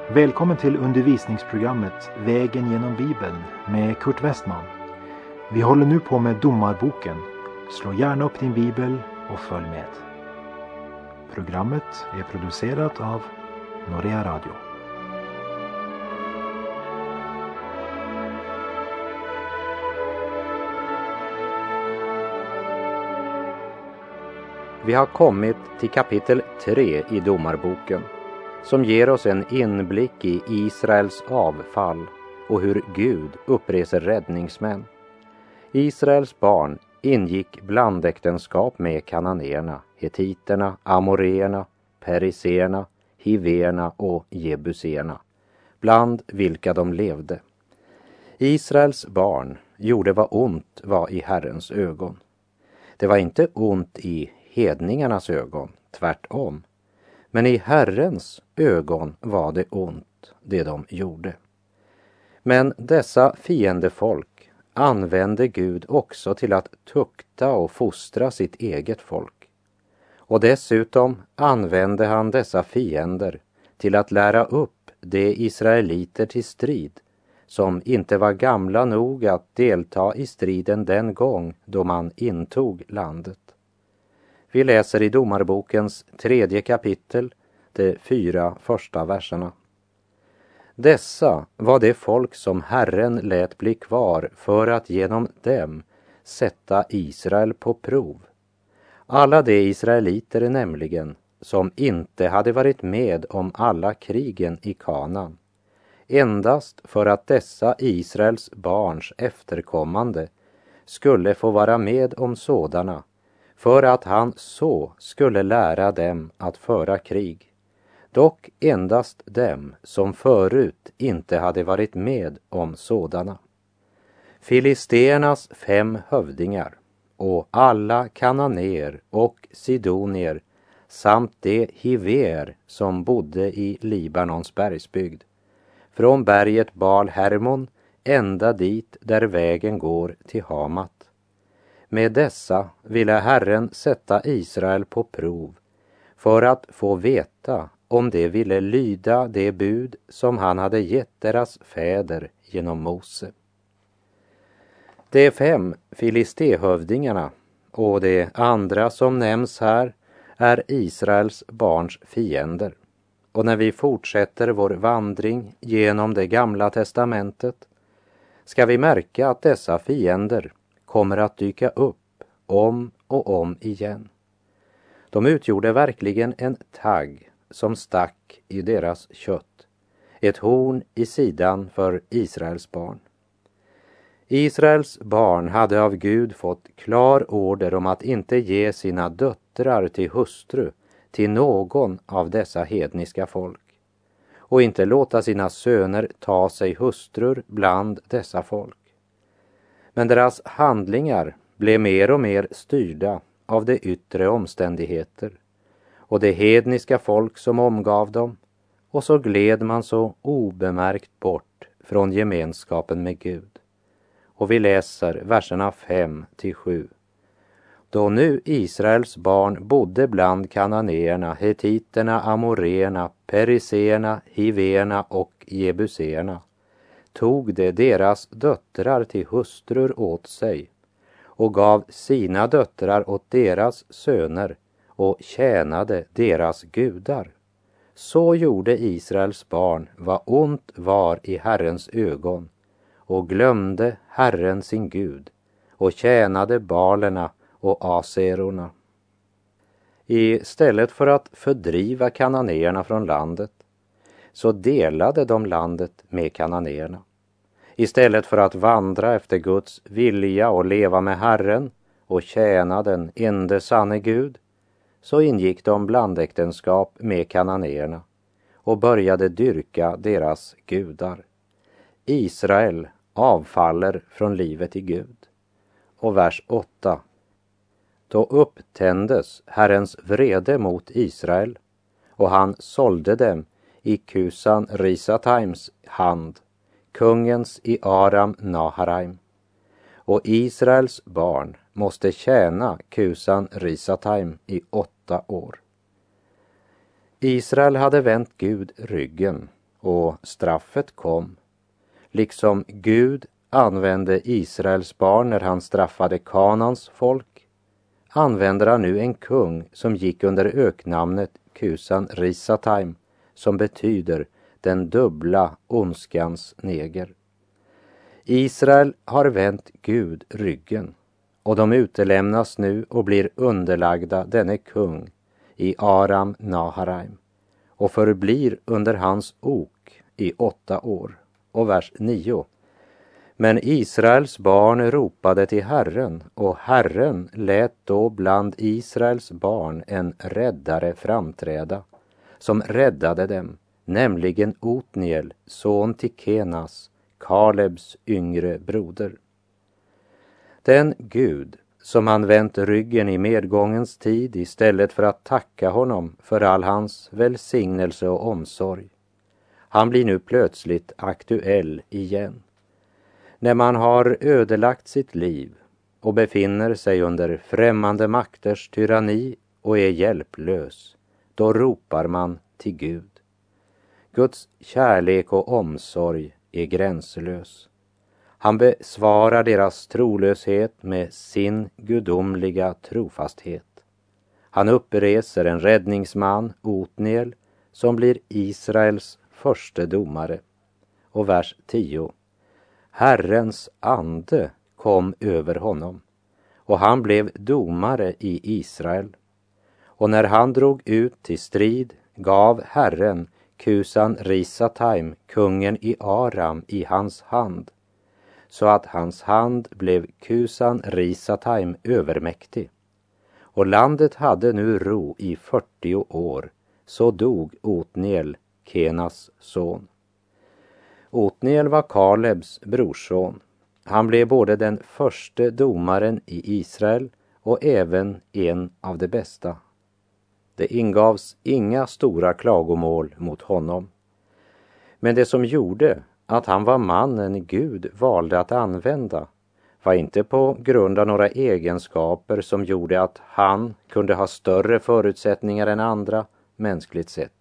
Välkommen till undervisningsprogrammet Vägen genom Bibeln med Kurt Westman. Vi håller nu på med Domarboken. Slå gärna upp din bibel och följ med. Programmet är producerat av Norea Radio. Vi har kommit till kapitel 3 i Domarboken, som ger oss en inblick i Israels avfall och hur Gud uppreser räddningsmän. Israels barn ingick blandäktenskap med kananéerna, hetiterna, amoreerna, periserna, hiverna och jebuserna, bland vilka de levde. Israels barn gjorde vad ont var i Herrens ögon. Det var inte ont i hedningarnas ögon, tvärtom. Men i Herrens ögon var det ont, det de gjorde. Men dessa fiendefolk använde Gud också till att tukta och fostra sitt eget folk. Och dessutom använde han dessa fiender till att lära upp de israeliter till strid, som inte var gamla nog att delta i striden den gång då man intog landet. Vi läser i Domarbokens 3:e kapitel, de 4 första verserna. Dessa var det folk som Herren lät bli kvar för att genom dem sätta Israel på prov. Alla de israeliter nämligen som inte hade varit med om alla krigen i Kanaan, endast för att dessa Israels barns efterkommande skulle få vara med om sådana, för att han så skulle lära dem att föra krig, dock endast dem som förut inte hade varit med om sådana. Filisternas 5 hövdingar och alla kananéer och sidonier samt de hiver som bodde i Libanons bergsbygd, från berget Baal Hermon ända dit där vägen går till Hamat. Med dessa ville Herren sätta Israel på prov för att få veta om de ville lyda det bud som han hade gett deras fäder genom Mose. De 5 filistehövdingarna och de andra som nämns här är Israels barns fiender. Och när vi fortsätter vår vandring genom det gamla testamentet ska vi märka att dessa fiender kommer att dyka upp om och om igen. De utgjorde verkligen en tagg som stack i deras kött, ett horn i sidan för Israels barn. Israels barn hade av Gud fått klar order om att inte ge sina döttrar till hustru till någon av dessa hedniska folk, och inte låta sina söner ta sig hustrur bland dessa folk. Men deras handlingar blev mer och mer styrda av de yttre omständigheter och det hedniska folk som omgav dem, och så gled man så obemärkt bort från gemenskapen med Gud. Och vi läser verserna 5-7. Då nu Israels barn bodde bland kananéerna, hetiterna, amoreerna, periserna, hiverna och jebuserna, tog de deras döttrar till hustrur åt sig och gav sina döttrar åt deras söner och tjänade deras gudar. Så gjorde Israels barn vad ont var i Herrens ögon och glömde Herren sin Gud och tjänade balerna och aserorna. Istället för att fördriva kananéerna från landet så delade de landet med kananéerna. Istället för att vandra efter Guds vilja och leva med Herren och tjäna den ende sanne Gud, så ingick de blandäktenskap med kananéerna och började dyrka deras gudar. Israel avfaller från livet i Gud. Och vers 8. Då upptändes Herrens vrede mot Israel, och han sålde dem i Kusan Risataims hand, kungens i Aram Naharaim. Och Israels barn måste tjäna Kusan Risataim i 8 år. Israel hade vänt Gud ryggen och straffet kom. Liksom Gud använde Israels barn när han straffade Kanans folk, använder han nu en kung som gick under öknamnet Kusan Risataim, som betyder den dubbla ondskans neger. Israel har vänt Gud ryggen, och de utelämnas nu och blir underlagda denne kung i Aram Naharaim och förblir under hans ok i 8 år. Och vers 9. Men Israels barn ropade till Herren, och Herren lät då bland Israels barn en räddare framträda, som räddade dem, nämligen Otniel, son till Kenas, Kalebs yngre broder. Den Gud som han vänt ryggen i medgångens tid istället för att tacka honom för all hans välsignelse och omsorg, han blir nu plötsligt aktuell igen. När man har ödelagt sitt liv och befinner sig under främmande makters tyranni och är hjälplös, då ropar man till Gud. Guds kärlek och omsorg är gränslös. Han besvarar deras trolöshet med sin gudomliga trofasthet. Han uppreser en räddningsman, Otniel, som blir Israels förste domare. Och vers 10. Herrens ande kom över honom, och han blev domare i Israel. Och när han drog ut till strid gav Herren Kusan Risataim, kungen i Aram, i hans hand, så att hans hand blev Kusan Risataim övermäktig. Och landet hade nu ro i 40 år, så dog Otniel, Kenas son. Otniel var Kalebs brorson. Han blev både den förste domaren i Israel och även en av de bästa. Det ingavs inga stora klagomål mot honom. Men det som gjorde att han var mannen Gud valde att använda var inte på grund av några egenskaper som gjorde att han kunde ha större förutsättningar än andra mänskligt sett.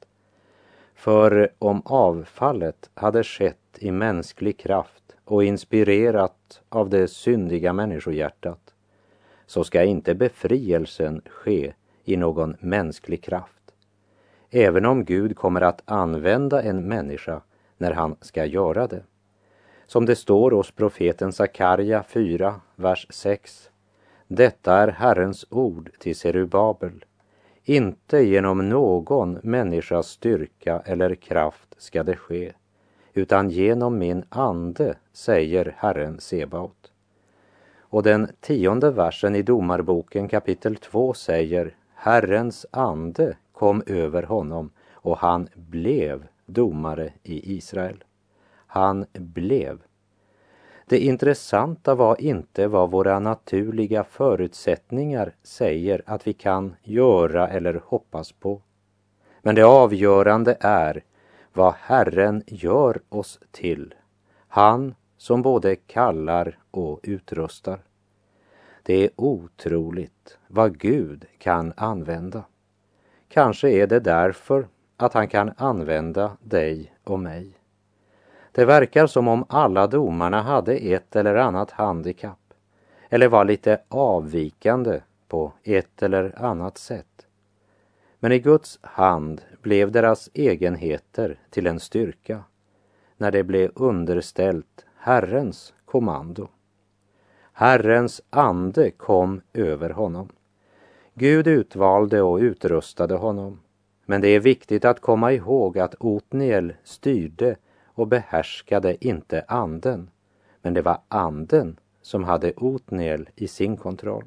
För om avfallet hade skett i mänsklig kraft och inspirerat av det syndiga människohjärtat, så ska inte befrielsen ske i någon mänsklig kraft. Även om Gud kommer att använda en människa när han ska göra det. Som det står hos profeten Sakarja 4, vers 6. Detta är Herrens ord till Serubabel. Inte genom någon människas styrka eller kraft ska det ske, utan genom min ande, säger Herren Sebaot. Och den 10:e versen i Domarboken kapitel 2 säger: Herrens ande kom över honom, och han blev domare i Israel. Han blev. Det intressanta var inte vad våra naturliga förutsättningar säger att vi kan göra eller hoppas på. Men det avgörande är vad Herren gör oss till. Han som både kallar och utrustar. Det är otroligt vad Gud kan använda. Kanske är det därför att han kan använda dig och mig. Det verkar som om alla domarna hade ett eller annat handikapp, eller var lite avvikande på ett eller annat sätt. Men i Guds hand blev deras egenheter till en styrka, när det blev underställt Herrens kommando. Herrens ande kom över honom. Gud utvalde och utrustade honom. Men det är viktigt att komma ihåg att Otniel styrde och behärskade inte anden, men det var anden som hade Otniel i sin kontroll.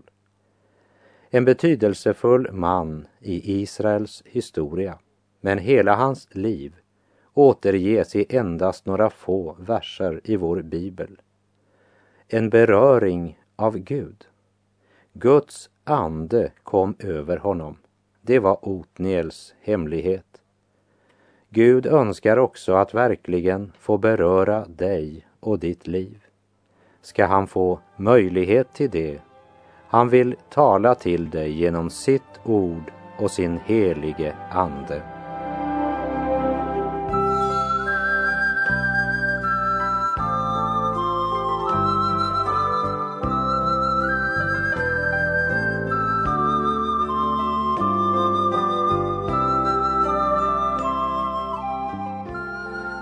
En betydelsefull man i Israels historia, men hela hans liv återges i endast några få verser i vår bibel. En beröring av Gud. Guds ande kom över honom. Det var Otniels hemlighet. Gud önskar också att verkligen få beröra dig och ditt liv. Ska han få möjlighet till det? Han vill tala till dig genom sitt ord och sin helige ande.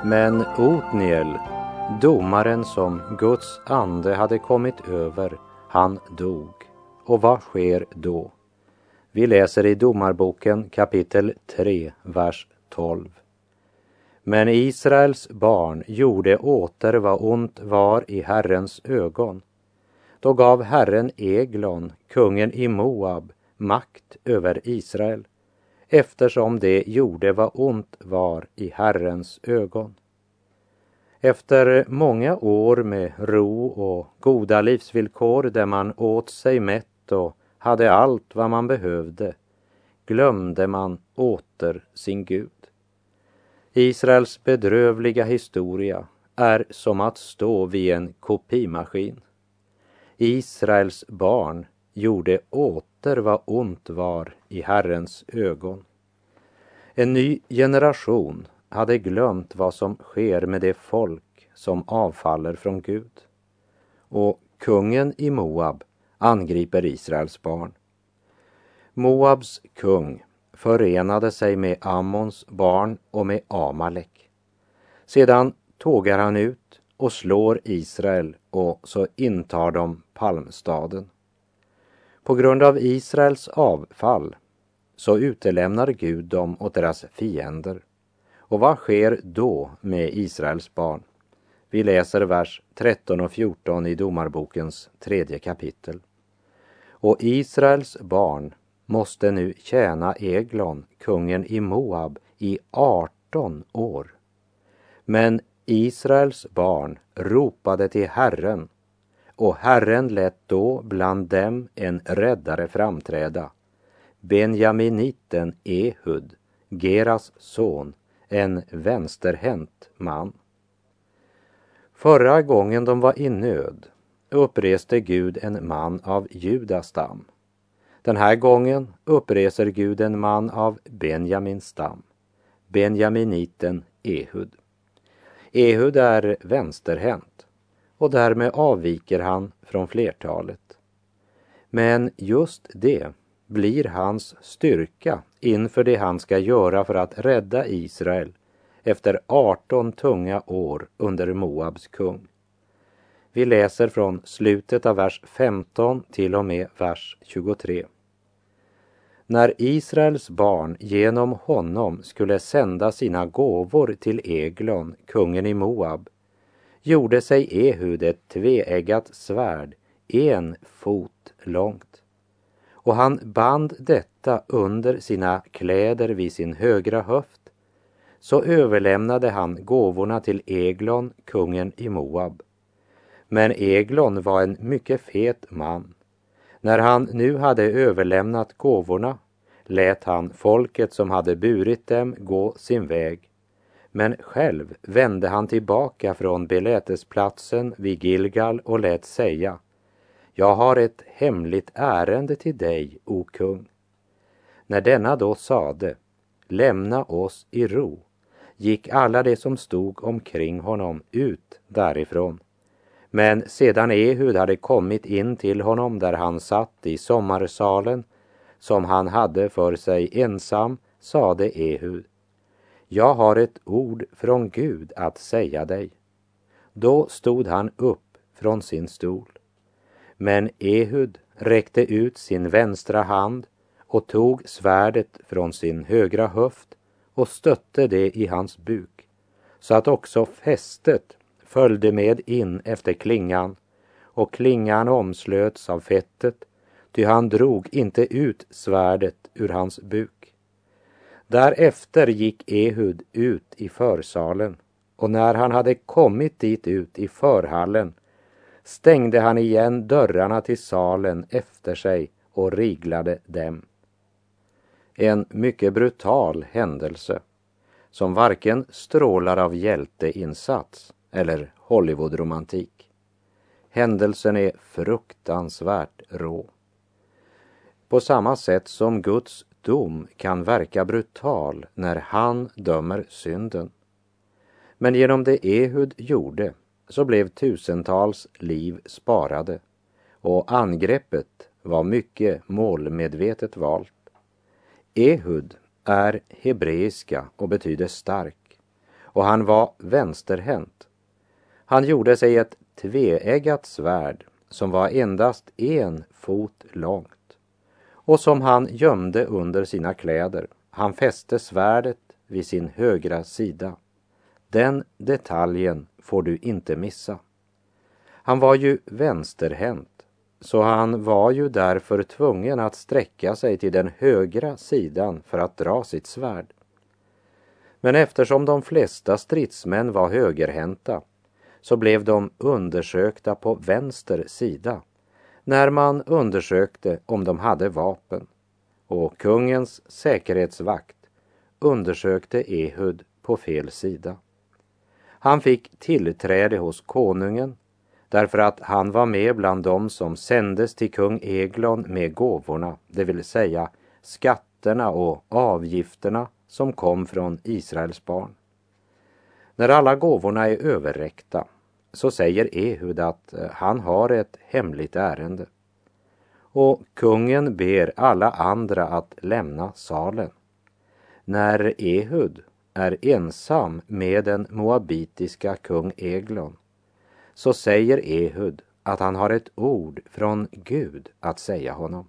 Men Otniel, domaren som Guds ande hade kommit över, han dog. Och vad sker då? Vi läser i Domarboken kapitel 3, vers 12. Men Israels barn gjorde åter vad ont var i Herrens ögon. Då gav Herren Eglon, kungen i Moab, makt över Israel, eftersom det gjorde vad ont var i Herrens ögon. Efter många år med ro och goda livsvillkor där man åt sig mätt och hade allt vad man behövde, glömde man åter sin Gud. Israels bedrövliga historia är som att stå vid en kopimaskin. Israels barn gjorde åter vad ont var i Herrens ögon. En ny generation hade glömt vad som sker med det folk som avfaller från Gud. Och kungen i Moab angriper Israels barn. Moabs kung förenade sig med Ammons barn och med Amalek. Sedan tågar han ut och slår Israel och så intar de palmstaden. På grund av Israels avfall så utelämnar Gud dem åt deras fiender. Och vad sker då med Israels barn? Vi läser vers 13 och 14 i Domarbokens 3:e kapitel. Och Israels barn måste nu tjäna Eglon, kungen i Moab, i 18 år. Men Israels barn ropade till Herren, och Herren lät då bland dem en räddare framträda, Benjaminiten Ehud, Geras son, en vänsterhänt man. Förra gången de var i nöd uppreste Gud en man av Judas stam. Den här gången uppreser Gud en man av Benjamins stam, Benjaminiten Ehud. Ehud är vänsterhänt och därmed avviker han från flertalet. Men just det blir hans styrka inför det han ska göra för att rädda Israel efter 18 tunga år under Moabs kung. Vi läser från slutet av vers 15 till och med vers 23. När Israels barn genom honom skulle sända sina gåvor till Eglon, kungen i Moab, gjorde sig Ehud ett tveeggat svärd, 1 fot långt. Och han band detta under sina kläder vid sin högra höft. Så överlämnade han gåvorna till Eglon, kungen i Moab. Men Eglon var en mycket fet man. När han nu hade överlämnat gåvorna lät han folket som hade burit dem gå sin väg. Men själv vände han tillbaka från belätesplatsen vid Gilgal och lät säga: Jag har ett hemligt ärende till dig, o kung. När denna då sade: Lämna oss i ro, gick alla de som stod omkring honom ut därifrån. Men sedan Ehud hade kommit in till honom där han satt i sommarsalen, som han hade för sig ensam, sade Ehud: Jag har ett ord från Gud att säga dig. Då stod han upp från sin stol. Men Ehud räckte ut sin vänstra hand och tog svärdet från sin högra höft och stötte det i hans buk, så att också fästet följde med in efter klingan, och klingan omslöts av fettet, ty han drog inte ut svärdet ur hans buk. Därefter gick Ehud ut i försalen, och när han hade kommit dit ut i förhallen stängde han igen dörrarna till salen efter sig och riglade dem. En mycket brutal händelse som varken strålar av hjälteinsats eller Hollywoodromantik. Händelsen är fruktansvärt rå. På samma sätt som Guds dom kan verka brutal när han dömer synden. Men genom det Ehud gjorde så blev tusentals liv sparade, och angreppet var mycket målmedvetet valt. Ehud är hebreiska och betyder stark, och han var vänsterhänt. Han gjorde sig ett tveeggat svärd som var endast 1 fot långt och som han gömde under sina kläder. Han fäste svärdet vid sin högra sida. Den detaljen får du inte missa. Han var ju vänsterhänt, så han var ju därför tvungen att sträcka sig till den högra sidan för att dra sitt svärd. Men eftersom de flesta stridsmän var högerhänta så blev de undersökta på vänster sida när man undersökte om de hade vapen, och kungens säkerhetsvakt undersökte Ehud på fel sida. Han fick tillträde hos konungen därför att han var med bland dem som sändes till kung Eglon med gåvorna, det vill säga skatterna och avgifterna som kom från Israels barn. När alla gåvorna är överräckta så säger Ehud att han har ett hemligt ärende. Och kungen ber alla andra att lämna salen. När Ehud är ensam med den moabitiska kung Eglon så säger Ehud att han har ett ord från Gud att säga honom.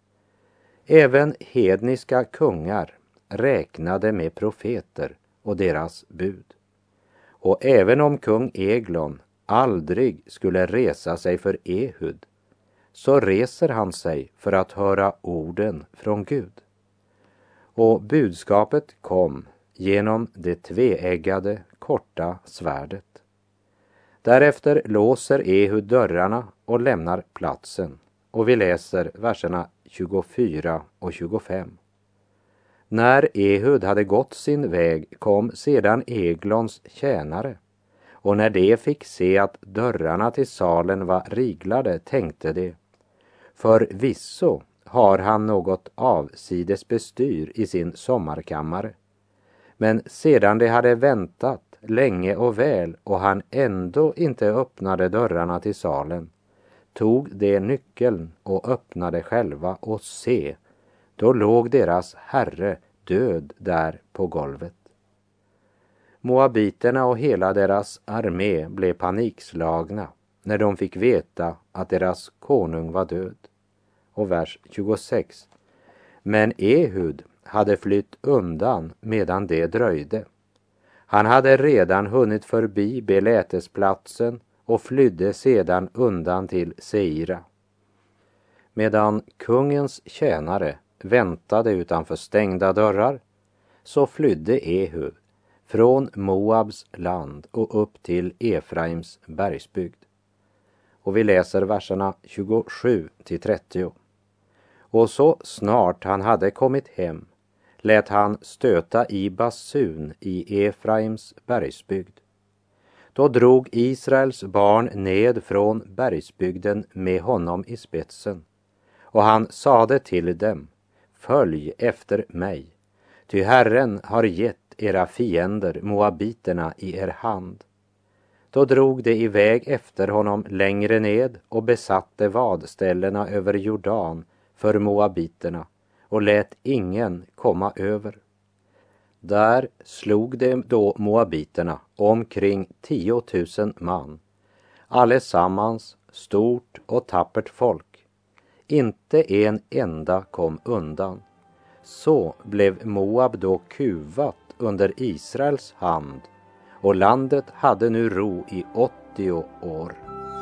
Även hedniska kungar räknade med profeter och deras bud. Och även om kung Eglon aldrig skulle resa sig för Ehud så reser han sig för att höra orden från Gud. Och budskapet kom genom det tveeggade korta svärdet. Därefter låser Ehud dörrarna och lämnar platsen, och vi läser verserna 24 och 25. När Ehud hade gått sin väg kom sedan Eglons tjänare, och när de fick se att dörrarna till salen var riglade tänkte de: förvisso har han något avsides bestyr i sin sommarkammare. Men sedan de hade väntat länge och väl och han ändå inte öppnade dörrarna till salen, tog de nyckeln och öppnade själva, och se, då låg deras herre död där på golvet. Moabiterna och hela deras armé blev panikslagna när de fick veta att deras konung var död. Och vers 26. Men Ehud hade flytt undan medan det dröjde. Han hade redan hunnit förbi belätesplatsen och flydde sedan undan till Seira. Medan kungens tjänare väntade utanför stängda dörrar så flydde Ehud från Moabs land och upp till Efraims bergsbygd. Och vi läser verserna 27 till 30. Och så snart han hade kommit hem lät han stöta i basun i Efraims bergsbygd. Då drog Israels barn ned från bergsbygden med honom i spetsen, och han sade till dem: följ efter mig, ty Herren har gett era fiender moabiterna i er hand. Då drog de iväg efter honom längre ned och besatte vadställena över Jordan för moabiterna och lät ingen komma över. Där slog de då moabiterna omkring 10 000 man, allesammans stort och tappert folk. Inte en enda kom undan. Så blev Moab då kuvat under Israels hand, och landet hade nu ro i 80 år.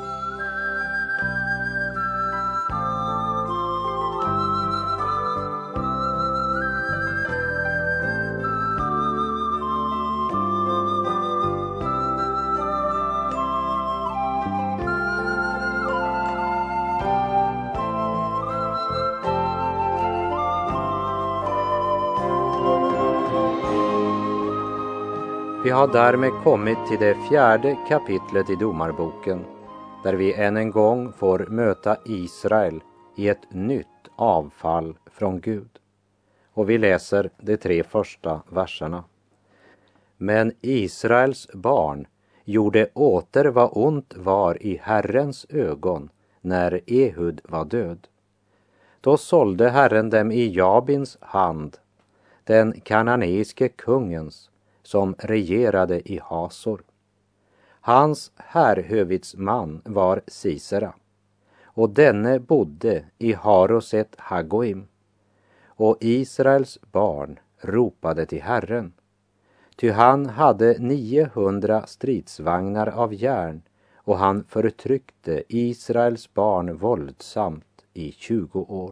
Vi har därmed kommit till det 4:e kapitlet i Domarboken, där vi än en gång får möta Israel i ett nytt avfall från Gud. Och vi läser de 3 första verserna. Men Israels barn gjorde åter vad ont var i Herrens ögon när Ehud var död. Då sålde Herren dem i Jabins hand, den kananeiske kungens, som regerade i Hasor. Hans härhövitsman var Sisera, och denne bodde i Haroset Hagoim. Och Israels barn ropade till Herren, ty han hade 900 stridsvagnar av järn, och han förtryckte Israels barn våldsamt i 20 år.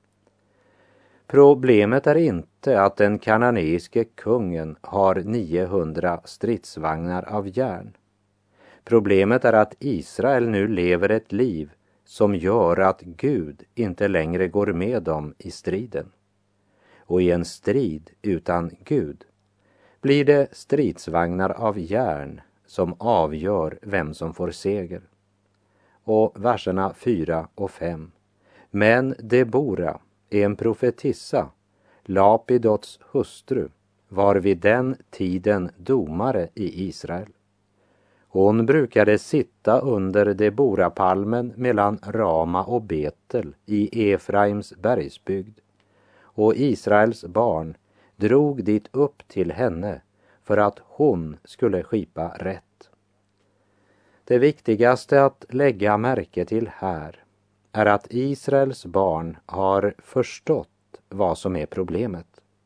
Problemet är inte att den kananeiske kungen har 900 stridsvagnar av järn. Problemet är att Israel nu lever ett liv som gör att Gud inte längre går med dem i striden. Och i en strid utan Gud blir det stridsvagnar av järn som avgör vem som får seger. Och verserna 4 och 5. Men Debora, en profetissa, Lapidots hustru, var vid den tiden domare i Israel. Hon brukade sitta under Deborapalmen mellan Rama och Betel i Efraims bergsbygd, och Israels barn drog dit upp till henne för att hon skulle skipa rätt. Det viktigaste att lägga märke till här är att Israels barn har förstått vad som är problemet.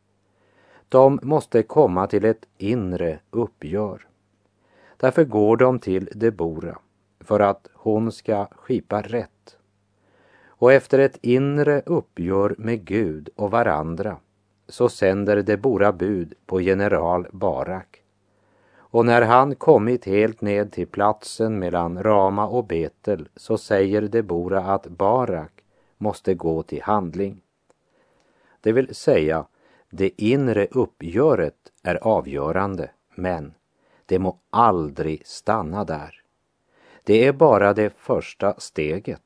De måste komma till ett inre uppgör. Därför går de till Debora för att hon ska skipa rätt. Och efter ett inre uppgör med Gud och varandra så sänder Debora bud på general Barak. Och när han kommit helt ned till platsen mellan Rama och Betel så säger Debora att Barak måste gå till handling. Det vill säga, det inre uppgöret är avgörande, men det må aldrig stanna där. Det är bara det första steget.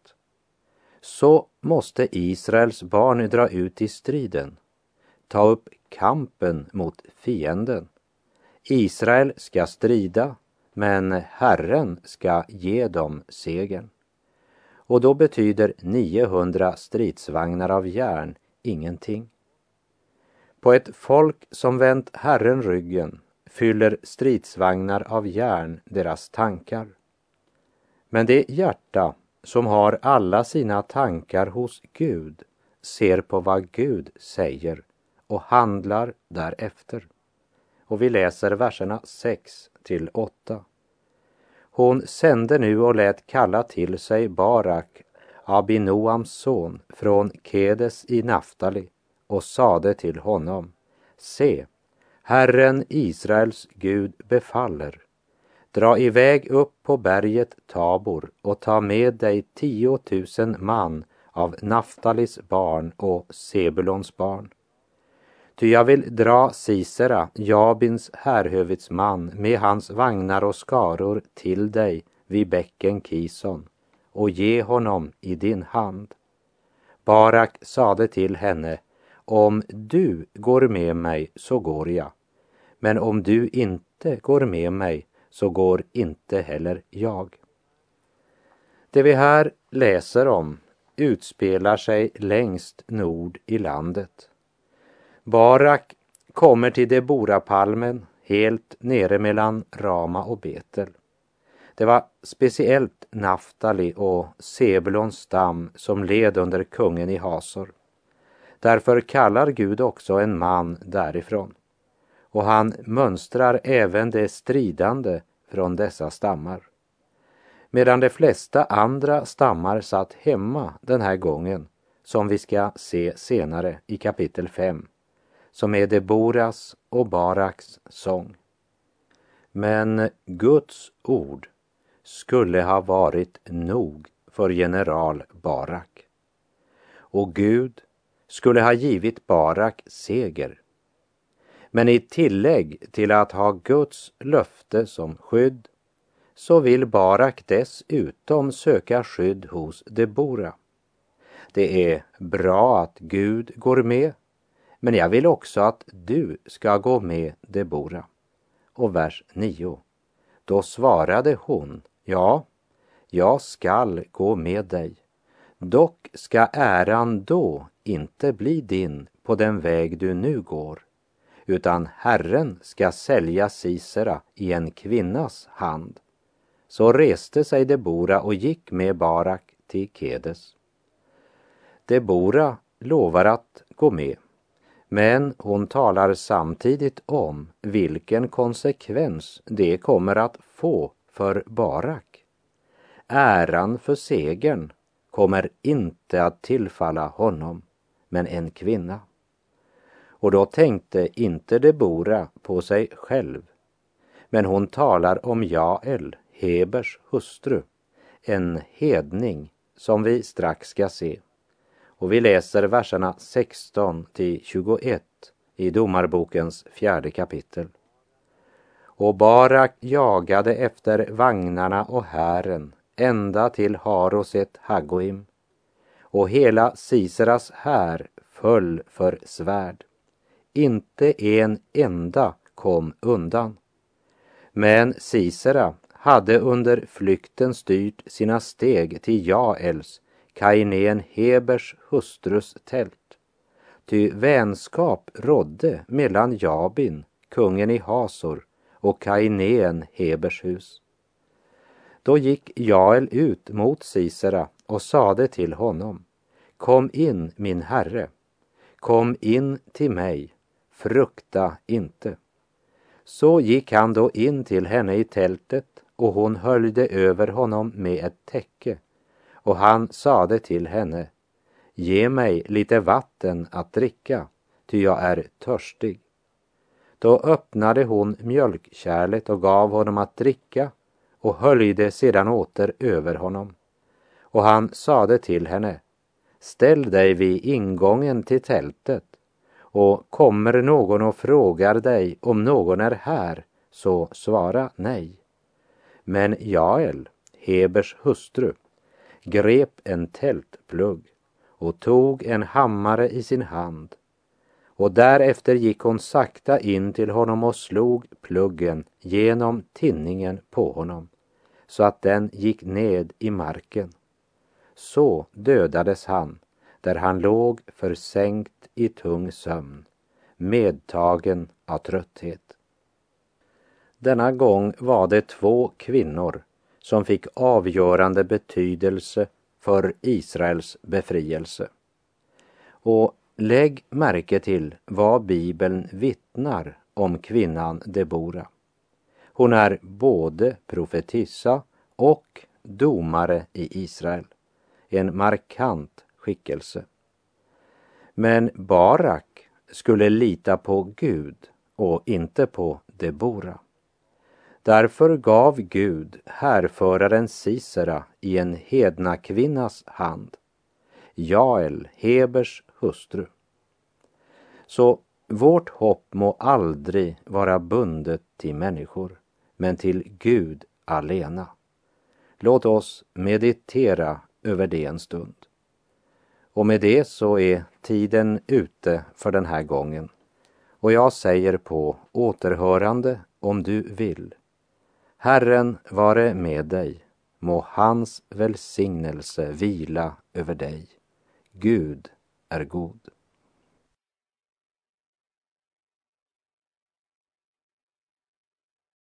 Så måste Israels barn dra ut i striden, ta upp kampen mot fienden. Israel ska strida, men Herren ska ge dem segern. Och då betyder 900 stridsvagnar av järn ingenting. På ett folk som vänt Herren ryggen fyller stridsvagnar av järn deras tankar. Men det hjärta som har alla sina tankar hos Gud ser på vad Gud säger och handlar därefter. Och vi läser verserna 6 till 8. Hon sände nu och lät kalla till sig Barak, Abinoams son, från Kedes i Naftali, och sade till honom: Se, Herren Israels Gud befaller. Dra iväg upp på berget Tabor och ta med dig 10 000 man av Naftalis barn och Sebulons barn. Ty jag vill dra Sisera, Jabins härhövitsman, med hans vagnar och skaror till dig vid bäcken Kison och ge honom i din hand. Barak sade till henne: Om du går med mig så går jag, men om du inte går med mig så går inte heller jag. Det vi här läser om utspelar sig längst nord i landet. Barak kommer till Deborapalmen helt nere mellan Rama och Betel. Det var speciellt Naftali och Sebulons stam som led under kungen i Hasor. Därför kallar Gud också en man därifrån. Och han mönstrar även det stridande från dessa stammar. Medan de flesta andra stammar satt hemma den här gången, som vi ska se senare i kapitel 5, som är Deboras och Baraks sång. Men Guds ord skulle ha varit nog för general Barak. Och Gud skulle ha givit Barak seger. Men i tillägg till att ha Guds löfte som skydd så vill Barak dessutom söka skydd hos Debora. Det är bra att Gud går med, men jag vill också att du ska gå med Debora. Och vers 9. Då svarade hon: Ja, jag skall gå med dig. Dock ska äran då inte bli din på den väg du nu går, utan Herren ska sälja Sisera i en kvinnas hand. Så reste sig Debora och gick med Barak till Kedes. Debora lovar att gå med, men hon talar samtidigt om vilken konsekvens det kommer att få för Barak. Äran för segern kommer inte att tillfalla honom, men en kvinna. Och då tänkte inte Debora på sig själv, men hon talar om Jael, Hebers hustru, en hedning som vi strax ska se. Och vi läser verserna 16-21 i Domarbokens 4:e kapitel. Och Barak jagade efter vagnarna och hären ända till Haroset Haggoim, och hela Siseras här föll för svärd. Inte en enda kom undan. Men Sisera hade under flykten styrt sina steg till Jaels, kainén Hebers hustrus tält. Ty vänskap rådde mellan Jabin, kungen i Hasor, och kainén Hebers hus. Då gick Jael ut mot Sisera och sade till honom: Kom in, min herre, kom in till mig, frukta inte. Så gick han då in till henne i tältet, och hon höljde över honom med ett täcke, och han sade till henne: Ge mig lite vatten att dricka, ty jag är törstig. Då öppnade hon mjölkkärlet och gav honom att dricka, och höljde sedan åter över honom. Och han sade till henne: Ställ dig vid ingången till tältet, och kommer någon och frågar dig om någon är här, så svara nej. Men Jael, Hebers hustru, grep en tältplugg och tog en hammare i sin hand, och därefter gick hon sakta in till honom och slog pluggen genom tinningen på honom, så att den gick ned i marken. Så dödades han, där han låg försänkt i tung sömn, medtagen av trötthet. Denna gång var det 2 kvinnor som fick avgörande betydelse för Israels befrielse. Och lägg märke till vad Bibeln vittnar om kvinnan Debora. Hon är både profetissa och domare i Israel. En markant skickelse. Men Barak skulle lita på Gud och inte på Debora. Därför gav Gud härföraren Sisera i en hedna kvinnas hand, Jael, Hebers hustru. Så vårt hopp må aldrig vara bundet till människor, men till Gud alena. Låt oss meditera över det en stund. Och med det så är tiden ute för den här gången. Och jag säger på återhörande om du vill. Herren vare med dig, må hans välsignelse vila över dig. Gud är god.